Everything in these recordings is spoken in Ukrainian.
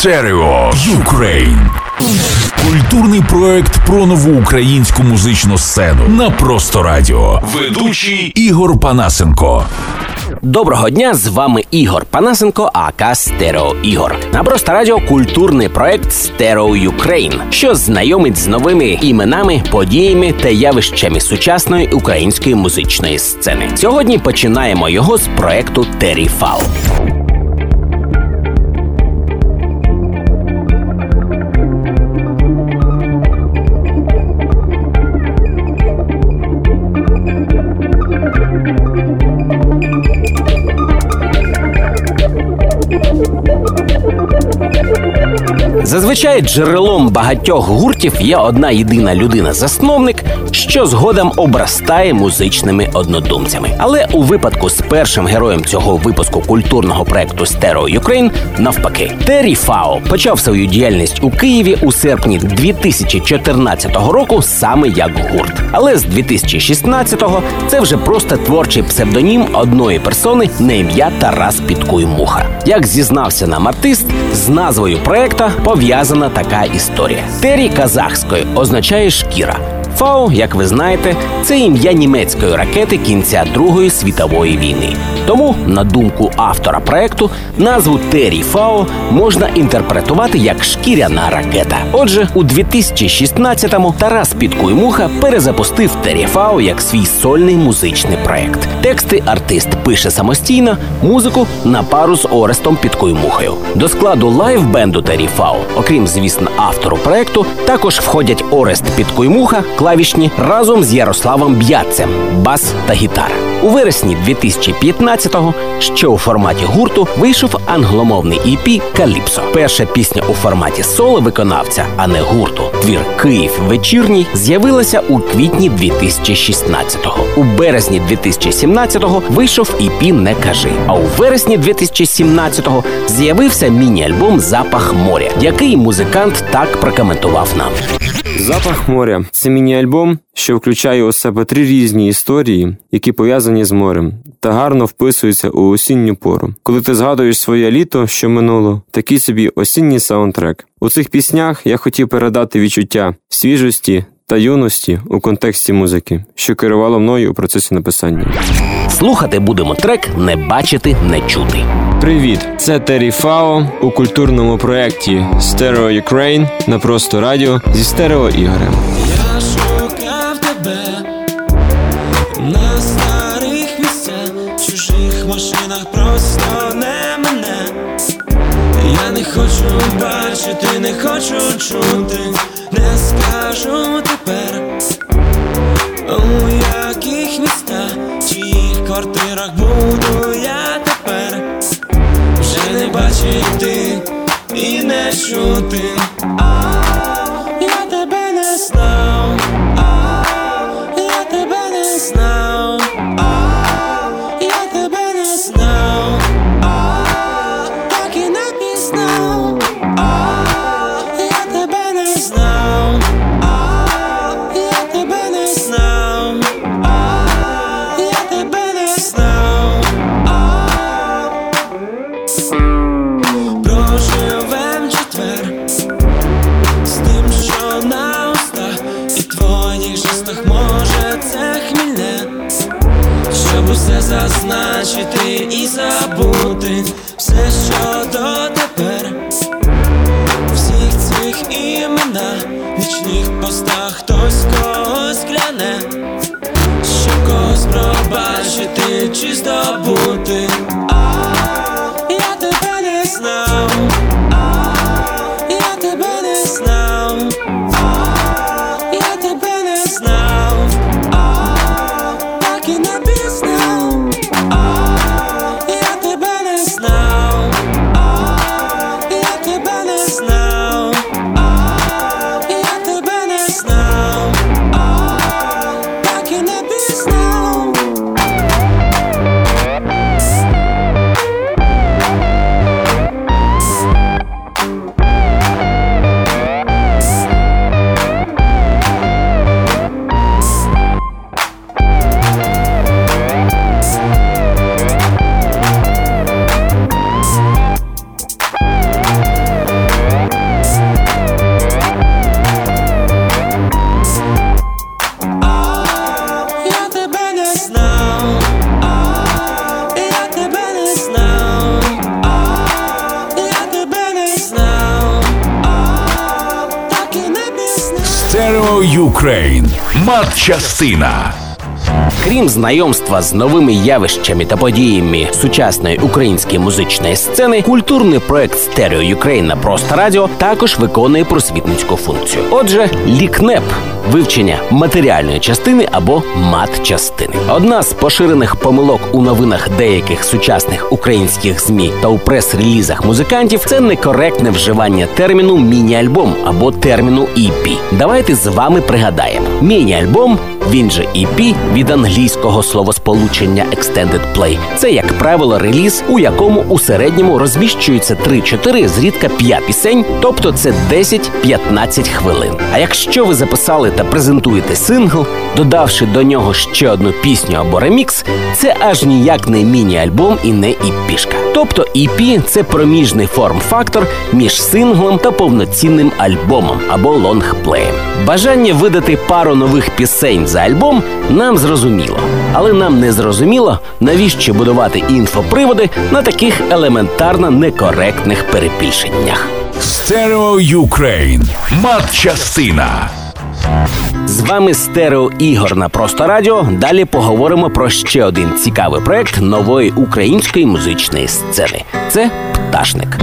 Стерео Юкрейн. Культурний проект про нову українську музичну сцену на Просто Радіо. Ведучий Ігор Панасенко. Доброго дня, з вами Ігор Панасенко, ака Стерео Ігор. На Просто Радіо культурний проект Стерео Юкрейн, що знайомить з новими іменами, подіями та явищами сучасної української музичної сцени. Сьогодні починаємо його з проекту Terry Foul. Зазвичай джерелом багатьох гуртів є одна єдина людина-засновник, що згодом обростає музичними однодумцями. Але у випадку з першим героєм цього випуску культурного проекту Стерео Юкрейн навпаки. Terry Foul почав свою діяльність у Києві у серпні 2014 року саме як гурт. Але з 2016-го це вже просто творчий псевдонім одної персони на ім'я Тарас Підкуй-Муха. Як зізнався нам артист, з назвою проекта пов'язана така історія. Террі казахською означає «шкіра». Фау, як ви знаєте, це ім'я німецької ракети кінця Другої світової війни. Тому, на думку автора проекту, назву Terry Foul можна інтерпретувати як «шкіряна ракета». Отже, у 2016-му Тарас Підкуй-Муха перезапустив Terry Foul як свій сольний музичний проект. Тексти артист пише самостійно, музику на пару з Орестом Підкуй-Мухою. До складу лайв-бенду Terry Foul, окрім, звісно, автору проекту, також входять Орест Підкуй-Муха, клавішні разом з Ярославом Б'ятцем, бас та гітара. У вересні 2015-го, що у форматі гурту, вийшов англомовний EP «Каліпсо». Перша пісня у форматі соло-виконавця, а не гурту, твір «Київ вечірній», з'явилася у квітні 2016-го. У березні 2017-го вийшов EP «Не кажи». А у вересні 2017-го з'явився міні-альбом «Запах моря», який музикант так прокоментував нам. «Запах моря» – це міні-альбом, що включає у себе 3 різні історії, які пов'язані з морем, та гарно вписуються у осінню пору. Коли ти згадуєш своє літо, що минуло, такий собі осінній саундтрек. У цих піснях я хотів передати відчуття свіжості та юності у контексті музики, що керувало мною у процесі написання. Слухати будемо трек «Не бачити, не чути». Привіт, це Terry Foul у культурному проєкті Стерео Юкрейн на Просто Радіо зі Стерео Ігорем. Я шукав тебе на старих місцях, в чужих машинах, просто не мене. Я не хочу бачити, не хочу чути, не скажу тепер, у яких містах, чиїх квартирах буду я тепер. Вже не бачити і не чути. Я тебе не знав, я тебе не знав, я тебе не знав, так і не пізнав. Я тебе не знав, я тебе не знав, я тебе не знав. Проживем четвер з тим, що на устах і твоїх жестах, може це хмільне, щоб усе зазначити і забути все, що дотепер. Всіх цих іменах, вічних постах хтось когось кляне, щоб когось пробачити чи здобути. Я тебе не знав, я тебе не знав, я тебе не знав, так і не пізнав. Я тебе не знав, я тебе не знав, я тебе не знав, так і не пізнав. Stereo Ukraine. Матчастина. Крім знайомства з новими явищами та подіями сучасної української музичної сцени, культурний проект Stereo Ukraine на Просто Радіо також виконує просвітницьку функцію. Отже, лікнеп – вивчення матеріальної частини або матчастини. Одна з поширених помилок у новинах деяких сучасних українських ЗМІ та у прес-релізах музикантів – це некоректне вживання терміну «міні-альбом» або терміну EP. Давайте з вами пригадаємо. Міні-альбом, він же EP, від англійського словосполучення Extended Play. Це, як правило, реліз, у якому у середньому розміщується 3-4, зрідка 5 пісень, тобто це 10-15 хвилин. А якщо ви записали та презентуєте сингл, додавши до нього ще одну пісню або ремікс, це аж ніяк не міні-альбом і не EP-шка. Тобто EP – це проміжний форм-фактор між синглом та повноцінним альбомом або лонгплеєм. Бажання видати пару нових пісень за альбом нам зрозуміло. Але нам не зрозуміло, навіщо будувати інфоприводи на таких елементарно некоректних перебільшеннях. Stereo Ukraine. Матчастина. З вами Стерео Ігор на Просто Радіо. Далі поговоримо про ще один цікавий проект нової української музичної сцени. Це «Пташник».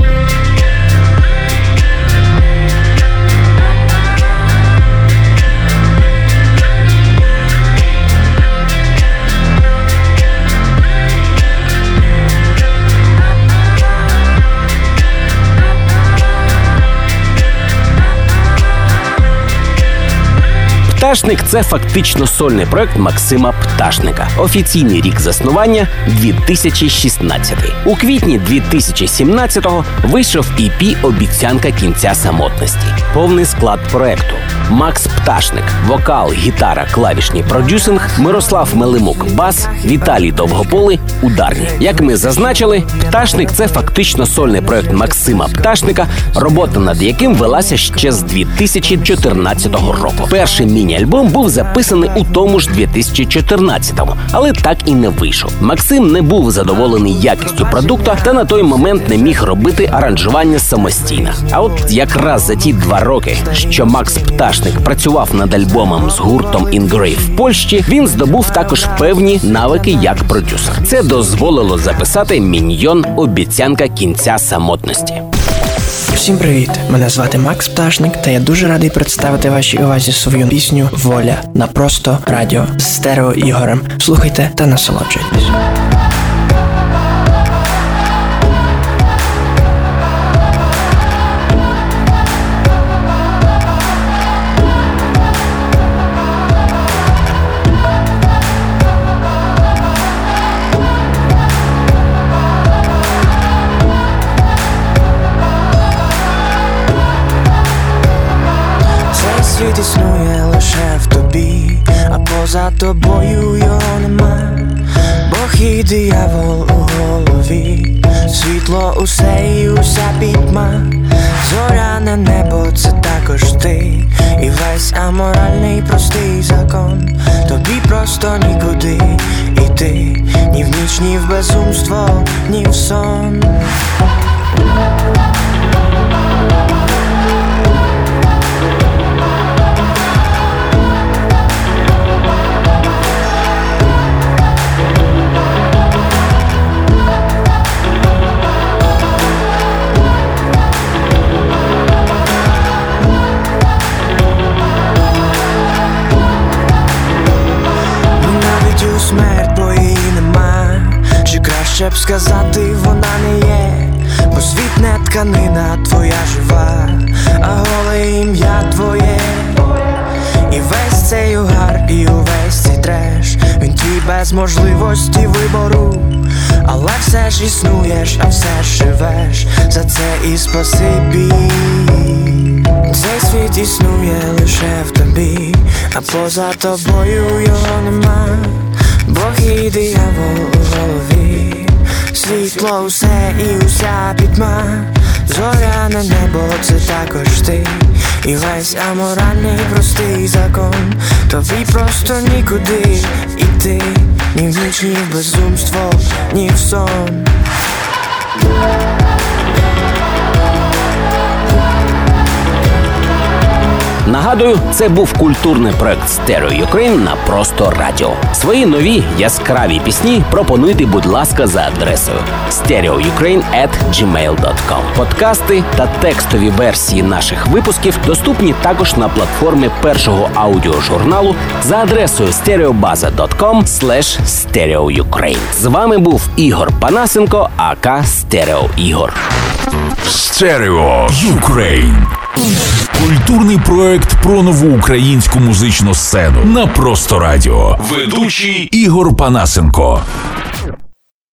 «Пташник» – це фактично сольний проект Максима Пташника. Офіційний рік заснування – 2016. У квітні 2017-го вийшов EP «Обіцянка кінця самотності». Повний склад проекту – Макс Пташник – вокал, гітара, клавішні, продюсинг, Мирослав Мелимук – бас, Віталій Довгополий – ударні. Як ми зазначили, «Пташник» – це фактично сольний проект Максима Пташника, робота над яким велася ще з 2014 року. Перший міні-альбом був записаний у тому ж 2014-му, але так і не вийшов. Максим не був задоволений якістю продукту та на той момент не міг робити аранжування самостійно. А от якраз за ті 2 роки, що Макс Пташник працював над альбомом з гуртом Ingrave в Польщі, він здобув також певні навики як продюсер. Це дозволило записати «Міньйон. Обіцянка кінця самотності». Всім привіт! Мене звати Макс Пташник, та я дуже радий представити вашій увазі свою пісню «Воля» на Просто Радіо з Стерео Ігорем. Слухайте та насолоджуйтесь. Світ існує лише в тобі, а поза тобою його нема. Бог і диявол у голові, світло усе і уся пітьма. Зоряне небо – це також ти, і весь аморальний простий закон. Тобі просто нікуди іти, ні в ніч, ні в безумство, ні в сон. Смерть, бо її нема, чи краще б сказати, вона не є. Бо світ не тканина твоя жива, а голе ім'я твоє. І весь цей угар, і увесь цей треш, він твій без можливості вибору. Але все ж існуєш, а все ж живеш, за це і спасибі. Цей світ існує лише в тобі, а поза тобою його нема. Бог і диявол у голові, світло усе і уся пітьма. Зоряне небо – це також ти, і весь аморальний простий закон. Тобі просто нікуди іти, ні в ніч, ні в безумство, ні в сон. На Нагадую, це був культурний проект Stereo Ukraine на Просто Радіо. Свої нові яскраві пісні пропонуйте, будь ласка, за адресою stereoukraine@gmail.com. Подкасти та текстові версії наших випусків доступні також на платформі першого аудіожурналу за адресою stereobaza.com/stereoukraine. З вами був Ігор Панасенко, АК Стерео Ігор. Stereo Ukraine. Культурний проект про нову українську музичну сцену на Просто Радіо. Ведучий Ігор Панасенко.